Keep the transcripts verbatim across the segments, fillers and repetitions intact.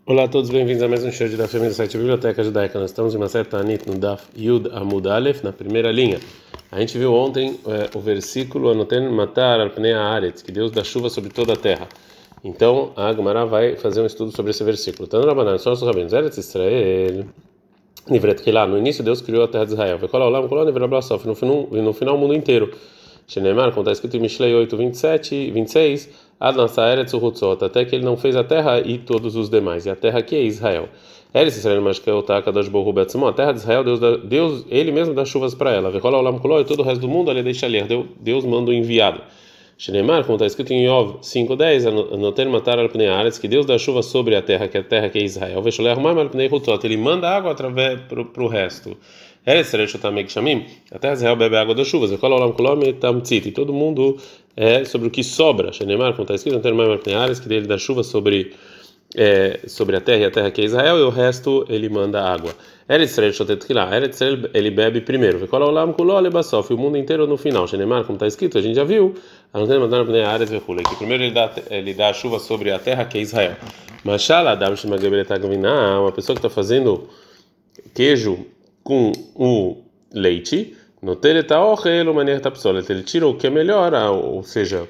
Olá a todos, bem-vindos a mais um show de Daf Yomi do site Biblioteca Judaica. Nós estamos em uma certa Anit no Daf Yud Amud Aleph, na primeira linha. A gente viu ontem é, o versículo Anoten Matar al Pnei Haaretz, que Deus dá chuva sobre toda a terra. Então a Gemara vai fazer um estudo sobre esse versículo. Tano Rabanan, só os rabinos, Eretz Israel, Nivret Kilá, no início Deus criou a terra de Israel. Vekola Olam, Kola Nivret Blassof, no final o mundo inteiro. Shenemar, como está escrito em Mishlei oito, vinte e sete, vinte e seis, Ad Nasa Eretz Uhutzot, até que ele não fez a terra e todos os demais. E a terra aqui é Israel. Eretz Israel, mas que é o Kadosh Baruch Hu Betzmo, a terra de Israel, Deus, dá, Deus ele mesmo dá chuvas para ela. Vekola Olam Kuló, e todo o resto do mundo, ele deixa ler. Deus manda o enviado. Shenemar, como está escrito em Yov cinco, dez, Anoten Matar al Pnei Haaretz, que Deus dá chuva sobre a terra, que é a terra que é Israel. Vesholeh Armam al Pnei Uhutzot, ele manda água através para o resto. Eretz Israel Shotameg Shamim, a terra de Israel bebe água das chuvas. Vekola Olam Kuló Metamtzit, e todo mundo é sobre o que sobra. Shenemar, como está escrito, Anoten Maim al Pnei Haaretz, que ele dá chuva sobre É, sobre a terra e a terra que é Israel, e o resto ele manda água. Eretz Israel shotet kilá, Eretz Israel ele bebe primeiro. Vekola olam kuló lebasof, o mundo inteiro no final. Shenemar, como está escrito, a gente já viu, que primeiro ele dá ele dá a chuva sobre a terra que é Israel. Mashala adam shemagabeletagamina, uma pessoa que está fazendo queijo com o leite, no teletaochel maneira tapsolet, ele tira o que é melhor, ou seja,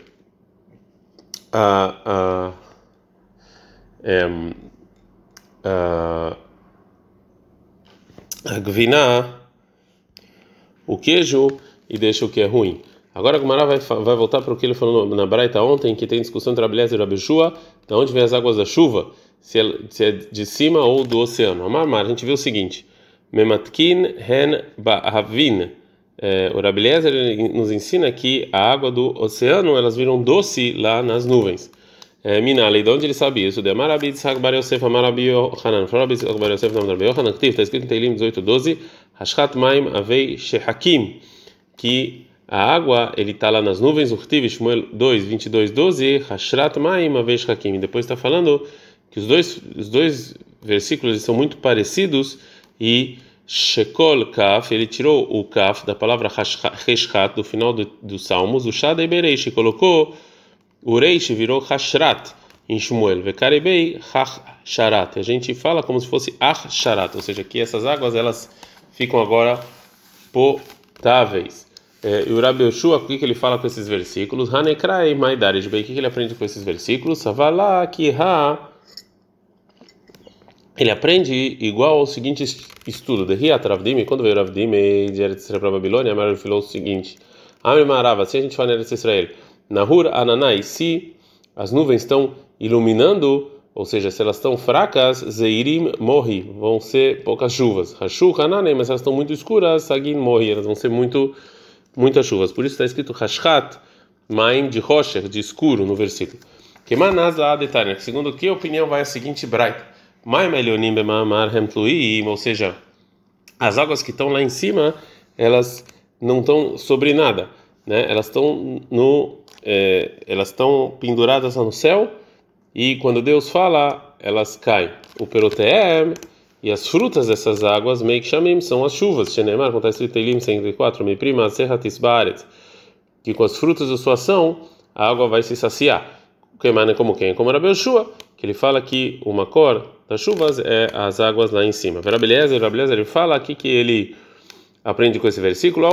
a a É, a, a gviná, o queijo, e deixa o que é ruim. Agora a Gemara vai, vai voltar para o que ele falou na Braita ontem, que tem discussão entre Abelhaz e Rabi Shua, de onde vem as águas da chuva, se é, se é de cima ou do oceano. Amar, a gente viu o seguinte: Mematkin hen ba'avin. É, o Rabi Eliezer nos ensina que a água do oceano elas viram doce lá nas nuvens. Minale, de onde ele sabia isso? De Marabi Tzhak Bar Yosef, Marabi Yohanan, Marabi Tzhak Bar Yosef, não Marabi Yohanan, está escrito em Teilim dezoito, doze, Hashchat Maim Avei Shehakim, que a água ele está lá nas nuvens, Urtiv Shmuel dois, vinte e dois, doze, Hashrat Maim Avei Shehakim. Depois está falando que os dois os dois versículos são muito parecidos e Shekol Kaf, ele tirou o Kaf da palavra Hashchat do final do, do Salmos, o Shadei Bereish, colocou o Reish virou Hashrat em Shmuel, Vekarebei Hashrat. A gente fala como se fosse Achsharat, ou seja, que essas águas elas ficam agora potáveis. É, e o Rabi Yoshua, o que, que ele fala com esses versículos? Hanekrai Maidarish, o que, que ele aprende com esses versículos? Savala Kiha. Ele aprende igual ao seguinte estudo: de Riat Ravdim, quando veio Ravdim de Eretz Israel para a Babilônia, ele falou o seguinte: Amri Marava, se a gente fala em Eretz Israel, Nahur Ananai, se as nuvens estão iluminando, ou seja, se elas estão fracas, Zeirim morri, vão ser poucas chuvas. Hashu Hananai, mas elas estão muito escuras, Sagin morri, elas vão ser muito, muitas chuvas. Por isso está escrito Hashchat, Maim de Rosher, de escuro, no versículo. Kemanaz la detalhe, segundo que opinião vai a seguinte braita: Maim Elionim bemamar hemtluim, ou seja, as águas que estão lá em cima, elas não estão sobre nada, né? Elas estão no É, elas estão penduradas no céu e quando Deus fala elas caem. O peroteem e as frutas dessas águas meik shamim são as chuvas. Shenemar, como está escrito em Teilim cento e quatro, mi prima serratis baret, que com as frutas da sua ação a água vai se saciar. Como quem? Como Rabi Yoshua, que ele fala que o makor das chuvas é as águas lá em cima. Rabi Eliezer, Rabi Eliezer, ele fala aqui que ele aprende com esse versículo: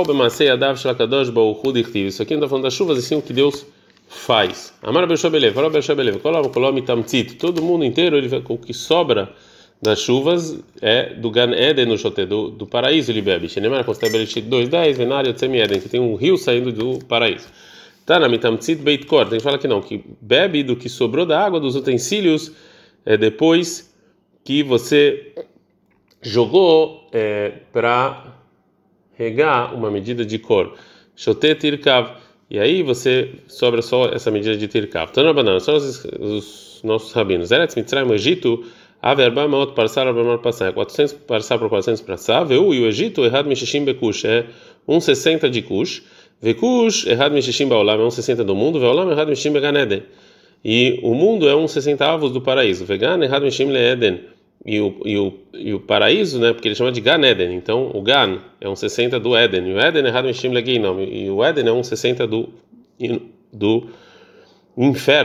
isso aqui não está falando das chuvas, e sim o que Deus faz. Amar Beshabelev, fala Beshabelev, todo mundo inteiro, ele, o que sobra das chuvas é do Gan Eden no Shoté, do, do paraíso ele bebe. Shenemar, dois, dez, Venário, Tsemi Eden, que tem um rio saindo do paraíso. Tá na Mitamtzit Beit Kor, tem que falar que não, que bebe do que sobrou da água dos utensílios é, depois que você jogou é, para regar uma medida de cor, Shoté Tirkav, e aí você sobra só essa medida de Tirkav. Então na banana, só os, os nossos rabinos. Eretz Mitzrayim, o Egito, a verba maot parsar a verba passar, quatrocentos parsar por quatrocentos parsar, veu, e o Egito, errado mishishim bekush, é um sessenta de kush, vekush, errado mishishim baolam, é um sessenta do mundo, veolam, errado mishishim beganeden, e o mundo é um sessenta avos do paraíso, vegan, errado mishishim leeden, E o, e, o, e o paraíso, né, porque ele chama de Gan Eden, então o Gan é um sessenta do Éden, e o Éden é errado em Shim Leginam, e o Éden é um sessenta do, do inferno.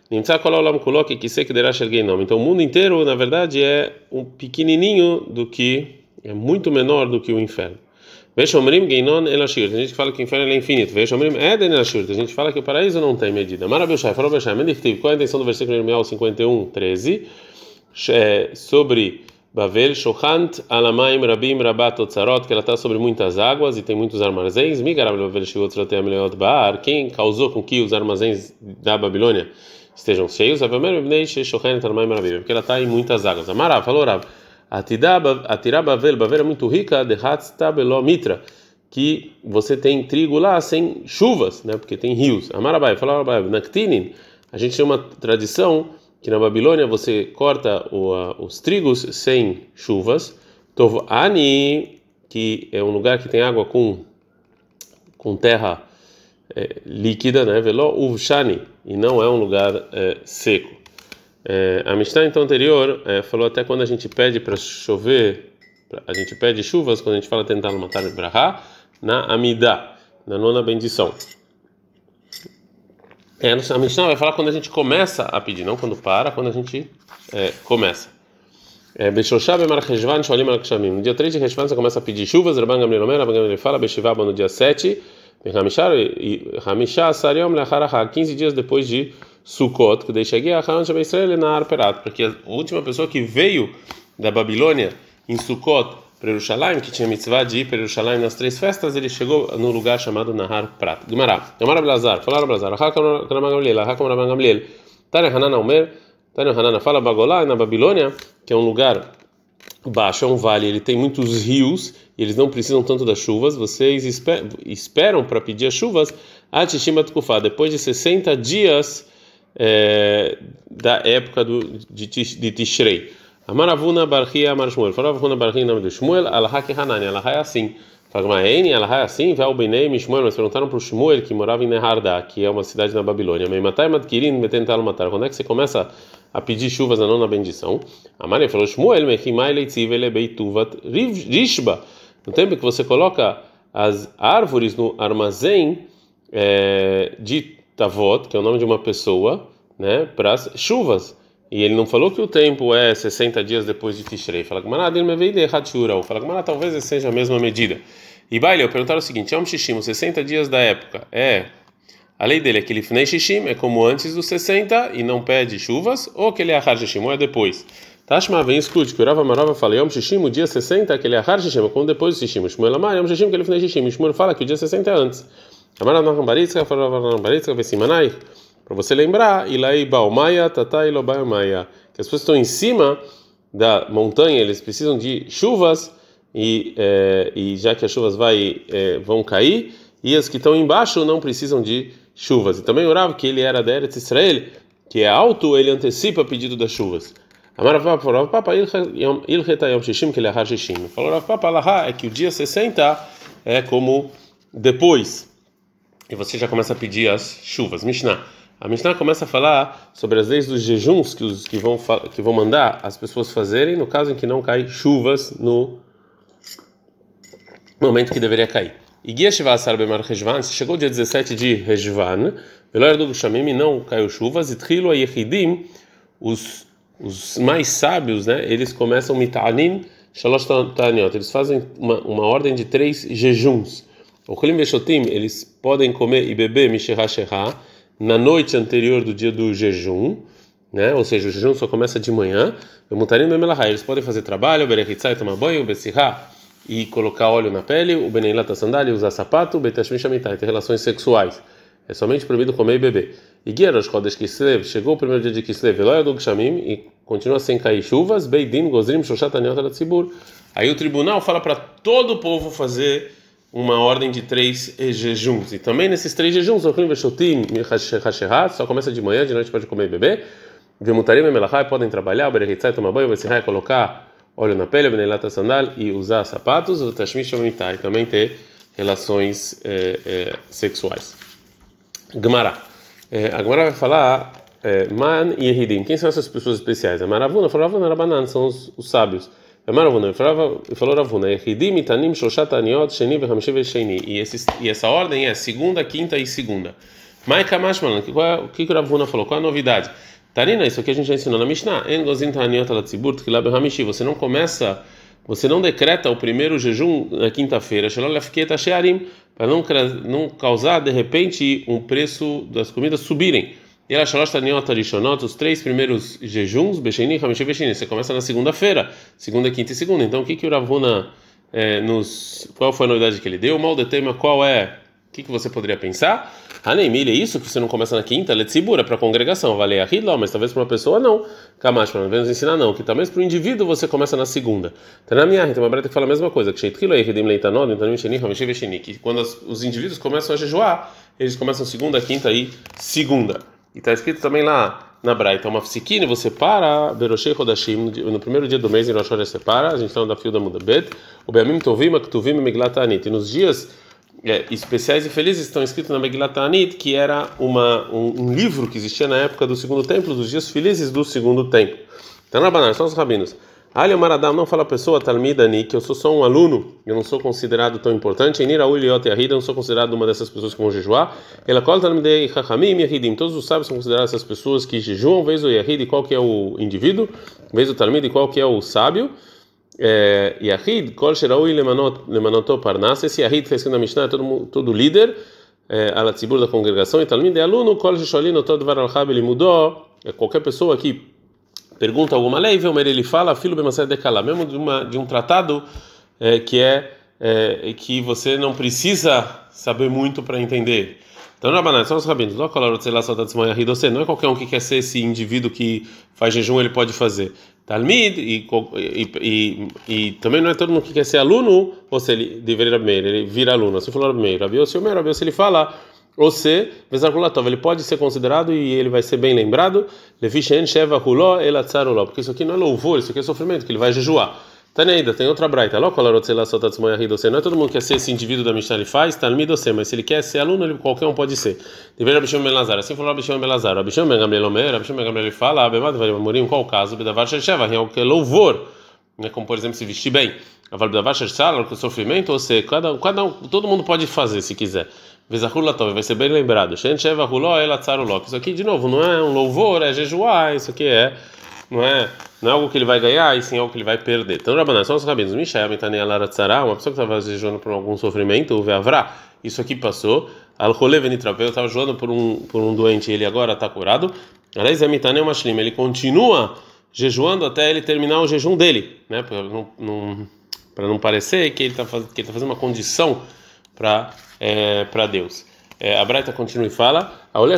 Nimtza kol haolam kulo kekisei kederah shel geinom. Então o mundo inteiro, na verdade, é um pequenininho do que é muito menor do que o inferno. Veshomrim geinon el ashir. Tem gente que fala que o inferno é infinito. Veshomrim eden el ashir. Tem gente que fala que o paraíso não tem medida. Marabilshai, falou Beshai, mendichtiv. Qual é a intenção do versículo de Irmiyahu cinquenta e um, treze? Sobre Bavel, Shochant, Alamaim, Rabim, Rabat, Otzarot, que ela está sobre muitas águas e tem muitos armazéns. Migarab, Bavel, Shiot, Rotem, Leot, Baar. Quem causou com que os armazéns da Babilônia estejam cheios? Avamer, Ibnei, Shochant, Alamaim, Rabim. Porque ela está em muitas águas. Amarav, falou Rav. Atirá Bavel, Bavel é muito rica, de Hatztabeló Mitra, que você tem trigo lá sem chuvas, né? Porque tem rios. Amarabai, falou Rabai, Naktinin, a gente tem uma tradição que na Babilônia você corta o, uh, os trigos sem chuvas. Tov Ani, que é um lugar que tem água com, com terra é, líquida, né? Veló Uvshani, e não é um lugar é, seco. É, a Mishnah então anterior é, falou até quando a gente pede para chover, pra, a gente pede chuvas, quando a gente fala tentar matar o Brahá, na Amidá, na nona bendição. É, a Mishnah vai falar quando a gente começa a pedir, não quando para, quando a gente é, começa. No dia três de Reshvan você começa a pedir chuvas. Rabban Gamliel Omer, Rabban Gamliel fala, Beshivaba no dia sete, quinze dias depois de Sukkot, que deixei a Israel na Arperat, porque a última pessoa que veio da Babilônia em Sukkot para Jerusalém, que tinha mitzvah de ir para Jerusalém nas três festas, ele chegou no lugar chamado Nahar Prat. Gumará, Gamara Blazar, falaram Blazar, Hakam Gamliel, Hakam Rabban Gamliel, Tânia Hanana Omer, Tânia Hanana fala Bagolá, na Babilônia, que é um lugar baixo, é um vale, ele tem muitos rios, e eles não precisam tanto das chuvas, vocês esperam para pedir as chuvas, Atishima Tkufá, depois de sessenta dias é, da época do, de, de Tishrei. Amaravuna Barchia Amar Shmuel. Faravuna Barchia em nome de Shmuel. Alahá que Hanani. Alahá é assim. Fagmaeni, Alahá é assim. Vel Benei Shmuel. Mas perguntaram para o Shmuel que morava em Nehardá, que é uma cidade na Babilônia. Meimatai Madkirin Metental Matar. Quando é que você começa a pedir chuvas na nona bendição? Amari falou Shmuel. Mechimai Leitziv Elebeituvat Rishba. No tempo que você coloca as árvores no armazém é, de Tavot, que é o nome de uma pessoa, né, para as chuvas. E ele não falou que o tempo é sessenta dias depois de Tishrei. Fala que Manadim me veio de Hatshura. Fala que Manadim talvez seja a mesma medida. E Baile, eu perguntaram o seguinte: Yom Shishim, sessenta dias da época, é a lei dele é que ele Lifnei Shishim, é como antes dos sessenta e não pede chuvas, ou que ele é Achar Shishim, ou é depois. Tashma vem escute que o Rava Marava fala Yom Shishim, o dia sessenta, que ele é Achar Shishim, é como depois do Shishim. Shmuel Amar, Yom Shishim, que ele Lifnei Shishim. Shmuel fala que o dia sessenta é antes. Amar Naham Baritzka, fala Naham Baritzka, Vesimanai. Para você lembrar, Ilai Baumaya, Tatai Lobaumaya, que as pessoas estão em cima da montanha, eles precisam de chuvas, e, é, e já que as chuvas vai, é, vão cair, e as que estão embaixo não precisam de chuvas. E também orava que ele era da Eretz Israel, que é alto, ele antecipa o pedido das chuvas. Amaravá falou, Papa, Ilcheta Yom Shishim, que ele é Har Shishim. Falou, Papa, Alahá, é que o dia sessenta é como depois, e você já começa a pedir as chuvas. Mishnah. A Mishnah começa a falar sobre as leis dos jejuns que, os, que, vão, que vão mandar as pessoas fazerem no caso em que não cai chuvas no momento que deveria cair. E Guia Shivasar Bemar Rejvan, se chegou o dia dezessete de Rejvan, Veloer do Shamim e não caiu chuvas, e Trilo Yehidim, os os mais sábios, né, eles começam Mitanim Shalosh Taniot, eles fazem uma, uma ordem de três jejuns. O Kolim Veshotim, eles podem comer e beber Mishera Shera na noite anterior do dia do jejum, né? Ou seja, o jejum só começa de manhã. Eles podem fazer trabalho, berechitzai, tomar banho, besirá e colocar óleo na pele, o beneilat, a sandália, usar sapato, o betashmi shamitai, ter relações sexuais. É somente proibido comer e beber. E Guia Chodesh Kislev, chegou o primeiro dia de Kislev, Veloia do Gshamim, e continua sem cair chuvas, Beidin, Gozrim, Shoshat, Aniot, Alatzibur. Aí o tribunal fala para todo o povo fazer uma ordem de três jejuns. E também nesses três jejuns, só começa de manhã, de noite pode comer e beber. Vemutarim e melachai podem trabalhar, berechitzai, tomar banho, besirrai, colocar óleo na pele, beneilat, sandal e usar sapatos, o tashmi shamitai, também ter relações é, é, sexuais. Gemara. É, a Gemara vai falar Man e Yehidim. Quem são essas pessoas especiais? A Maravuna, Faravuna, Rabanan, são os, os sábios. Maravuna, falou Ravuna, Yehidim, Itanim, Shoshat, Aniot, Sheni, Vehamishiv, Sheni. E essa ordem é segunda, quinta e segunda. Mai Kamashman, que qual é- o que que o Rav Huna falou? Qual é a novidade? Tarina, isso aqui a gente já ensinou na Mishnah. En gozin ta'aniot ala tzibur tchila b'hamishi. Você não começa, você não decreta o primeiro jejum na quinta-feira, shelo lefket she'arim, para não não causar de repente um preço das comidas subirem. E ela shalosh ta'aniot rishonot, os três primeiros jejuns, besheni, hamishi, besheni. Você começa na segunda-feira, segunda, quinta e segunda. Então o que que o Rav Huna é, nos qual foi a novidade que ele deu? O mal de tema qual é? O que, que você poderia pensar? Haneimile, é isso que você não começa na quinta? Letzibura, para a congregação. Vale a ridla, mas talvez para uma pessoa não. Kamash, para nos ensinar não. Que talvez para o indivíduo você começa na segunda. Tem na minha, tem uma breta que fala a mesma coisa. Que quando os indivíduos começam a jejuar, eles começam segunda, quinta e segunda. E está escrito também lá na Braita, uma psiquine, você para, Beroshei Rodashim, no primeiro dia do mês em Rosh Hashanah você para, a gente está no Dafio da Muda Bet, o Beamim Tovim, Aktuvim, Megillat Ta'anit. E nos dias É, especiais e felizes estão escritos na Megillat Ta'anit, que era uma, um, um livro que existia na época do segundo templo, dos dias felizes do segundo templo. Então, na banana, são os rabinos. Ali Maradam não fala a pessoa, Talmidani, que eu sou só um aluno, eu não sou considerado tão importante. Enira Uliot e Ahida, eu não sou considerado uma dessas pessoas que vão jejuar. Ela cola Talmidei Chachamim e Ahidim, todos os sábios são considerados essas pessoas que jejuam. Vez o Yahid, qual que é o indivíduo? Vez o Talmid, qual que é o sábio? Yahid, Kol Sheraui Lemanoto Parnas, esse Yahid que está escrito na Mishnah é todo, todo líder, alatzibur da congregação, e Talmid é aluno, Kol Sholino Tod Varalchab, ele mudou, é qualquer pessoa que pergunta alguma lei, ele fala, filo Bemassé de Kala, mesmo de, uma, de um tratado é, que é, é que você não precisa saber muito para entender. Então, Rabanan, são os rabinos. Não é qualquer um que quer ser esse indivíduo que faz jejum, ele pode fazer. Talmid, e, e, e, e também não é todo mundo que quer ser aluno, ou se ele deveria ele vira aluno. Assim falou Rabi Meir. Rabi Yossi, o Rabi Yossi, ele fala, ou se, ele pode ser considerado e ele vai ser bem lembrado, porque isso aqui não é louvor, isso aqui é sofrimento, que ele vai jejuar. Taneida, tem outra braita. Não é todo mundo que quer ser esse indivíduo da Mishnah ele faz, Talmid você, mas se ele quer ser aluno, ele, qualquer um pode ser. Deveria Rabbi Shimon ben Lazar. Assim falou Rabbi Shimon ben Lazar. Rabbi Shimon ben Gamliel Omer, Rabbi Shimon ben Gamliel ele fala, Abemad Varim, qual o caso? Bedavar Shesheva, é o que é louvor, né? Como por exemplo se vestir bem. Aval Bedavar Shesheva, que é sofrimento, ou seja, cada, cada um, todo mundo pode fazer se quiser. Vezachul Latov, vai ser bem lembrado. Shen Sheva Huló, Elatzar Uló. Isso aqui de novo não é um louvor, é jejuar, isso aqui é não é, não é algo que ele vai ganhar, e sim algo que ele vai perder. Então, Rabanan, são os rabinos. Mishael, Mitani, Alaratzara, uma pessoa que estava jejuando por algum sofrimento, o Veavrá, isso aqui passou. Al-Chole Venitrapeu, estava jejuando por um, por um doente, ele agora está curado. Aliás, é Mitani, uma Shlim, ele continua jejuando até ele terminar o jejum dele, né? Para não, não, para não parecer que ele está faz, tá fazendo uma condição para é, para Deus. É, a Braita continua e fala: uma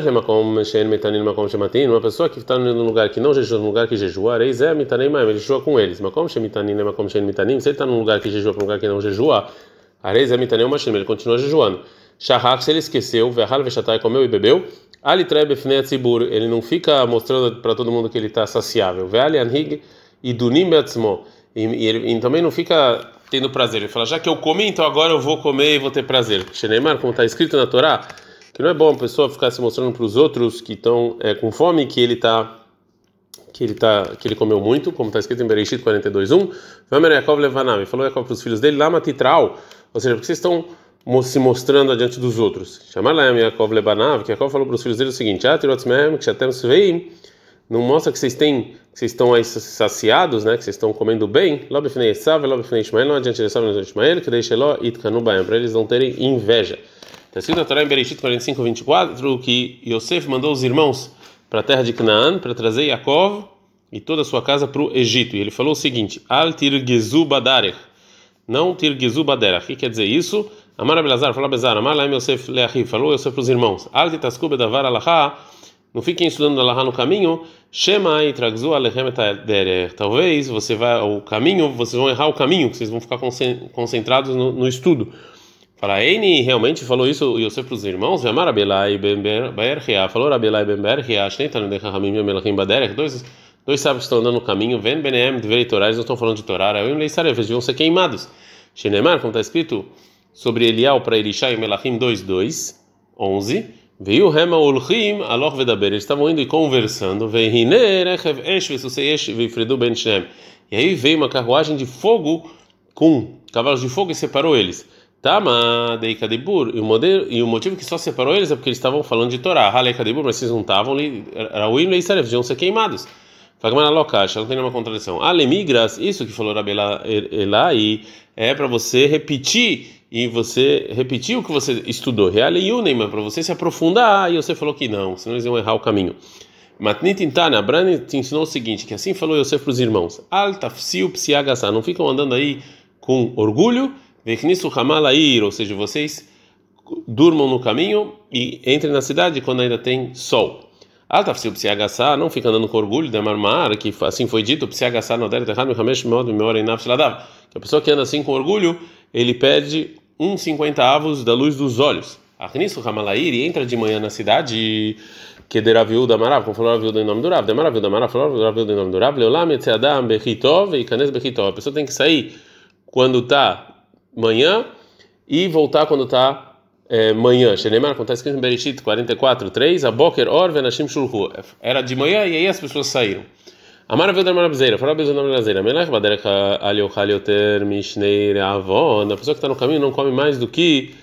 pessoa que está num lugar que não jejua, num lugar que jejua, ele jejua com eles. Se ele está num lugar que jejua para um lugar que não jejua, ele continua jejuando. Shahak, se ele esqueceu, comeu e bebeu, ele não fica mostrando para todo mundo que ele está saciável. E ele também não fica tendo prazer. Ele fala: já que eu comi, então agora eu vou comer e vou ter prazer. Sheneimar, como está escrito na Torá, que não é bom a pessoa ficar se mostrando para os outros que estão é, com fome, que ele está que ele tá que ele comeu muito, como está escrito em Bereshit quarenta e dois, um. Vamer Yaakov levanam, falou Yaakov para os filhos dele, lama titral, ou seja, porque vocês estão se mostrando adiante dos outros. Chamar lá Yaakov lebanav, que Yaakov falou para os filhos dele o seguinte: atirotzmehem que chatem sveim, não mostra que vocês têm, que vocês estão aí saciados, né? Que vocês estão comendo bem. Lá befnei Esav, lá befnei Ishmael, não adiante de Esav, não adiante de Ishmael, que deixe Eló itkanu baem, para eles não terem inveja. Está escrito na Torá em Bereshit quarenta e cinco, vinte e quatro, que Yosef mandou os irmãos para a terra de Canaã para trazer Yaakov e toda a sua casa para o Egito. E ele falou o seguinte: Al tirgezu badarech, não tirgezu baderach. O que quer dizer isso? Amar Abelazar, falou Abelazar, Amar Laim Yosef leachiv, falou Yosef para os irmãos: Al titasku bedavar alachá, não fiquem estudando alahá no caminho. Shema e tragzu alechem etaderech. Talvez você vai o caminho, vocês vão errar o caminho, que vocês vão ficar concentrados no, no estudo. Fala, Eini realmente falou isso Yosef para os irmãos. Amar Abelai ben Berchia, falou Abelai ben Berchia, Shneitanu de Chachamim Melachim baderech. Dois dois sábios que estão andando no caminho. Ven beneem dverei Torá, eles não estão falando de Torá. Eu lei sarev, eles deviam ser queimados. Shenemar, como está escrito sobre Elial para Elisha em Melachim dois, dois, onze. Veio Rema Ulchim Aloch Vedaber, eles estavam indo e conversando. Veihine Rechev Esh Vesusei Esh Veifredu Ben Shnem. E aí veio uma carruagem de fogo com cavalos de fogo e separou eles. Tama deika debur, e o modelo e o motivo que só separou eles é porque eles estavam falando de Torá. Haleika debur, mas vocês não estavam ali, Rauim leisaref, deviam ser queimados. Fagmana lokash, não tem nenhuma contradição. Alemigras, isso que falou Rabi Elai, é para você repetir e você repetir o que você estudou. Realeiunem, mas para você se aprofundar, e você falou que não, senão eles iam errar o caminho. Matnit Intana, a Brani te ensinou o seguinte, que assim falou Yosef para os irmãos: Al tafsiu psiagasa, não ficam andando aí com orgulho, veknisu hamalair, ou seja, vocês durmam no caminho e entrem na cidade quando ainda tem sol. Al tafsiu psiagasa, não fica andando com orgulho, demarmar, que assim foi dito, psiagasa no der terrado, hamesh mod memora em nafsladav, que a pessoa que anda assim com orgulho, ele perde um cinquenta avos da luz dos olhos. Achnisu hamalair, e entra de manhã na cidade, que de Raviu da Marav, como falou Raviu em nome do Rav, de Maraviu da Marav, falou Raviu em nome do Rav, Leolam etzeadam bechitov e canes bechitov. A pessoa tem que sair quando está manhã e voltar quando está é, manhã. Shenemar, como está escrito em Bereshit quarenta e quatro, três, a Boker or venashim shulchu. Era de manhã e aí as pessoas saíram. Amar Raviu da Maravzeira, falou Raviu em nome da Maravzeira, Melech baderech aliochal yoter mishnei reavon. A pessoa que está no caminho não come mais do que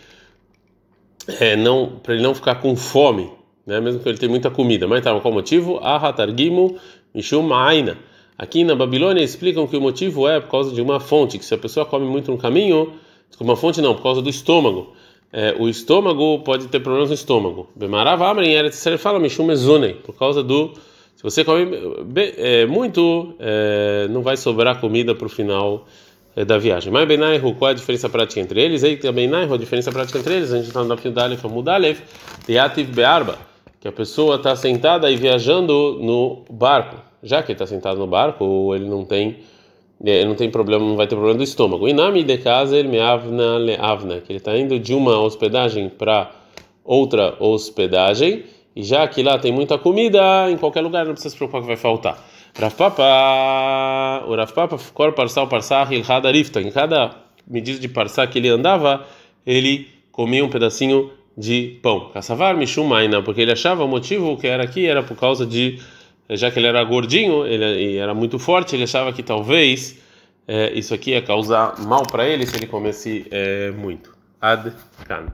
é, não, para ele não ficar com fome. Né, mesmo que ele tenha muita comida, mas tá, qual o motivo? Ahatargimu mishum aina. Aqui na Babilônia explicam que o motivo é por causa de uma fonte, que se a pessoa come muito no caminho, uma fonte não, por causa do estômago. É, o estômago pode ter problemas no estômago. Bemarav amrin eretz Yisrael fala mishum mezunei, por causa do, se você come é, muito, é, não vai sobrar comida para o final é, da viagem. Mas Benaihu, qual é a diferença prática entre eles? Aí tem a Benaihu, a diferença prática entre eles, a gente está no Daf Yudalef, Amudalef, Teativ Be'arba, que a pessoa está sentada e viajando no barco. Já que ele está sentado no barco, ele não tem, ele não tem problema, não vai ter problema do estômago. E nami de casa ele me avna le avna, que ele está indo de uma hospedagem para outra hospedagem, e já que lá tem muita comida, em qualquer lugar não precisa se preocupar que vai faltar. Rav Papa, o Rav Papa, kor parsal parsach ilhad arifta. Em cada medida de parsá que ele andava, ele comia um pedacinho de pão. Kassavar mishum maina, porque ele achava o motivo que era aqui era por causa de, já que ele era gordinho, ele e era muito forte, ele achava que talvez é, isso aqui ia causar mal para ele se ele comesse é, muito. Ad kan.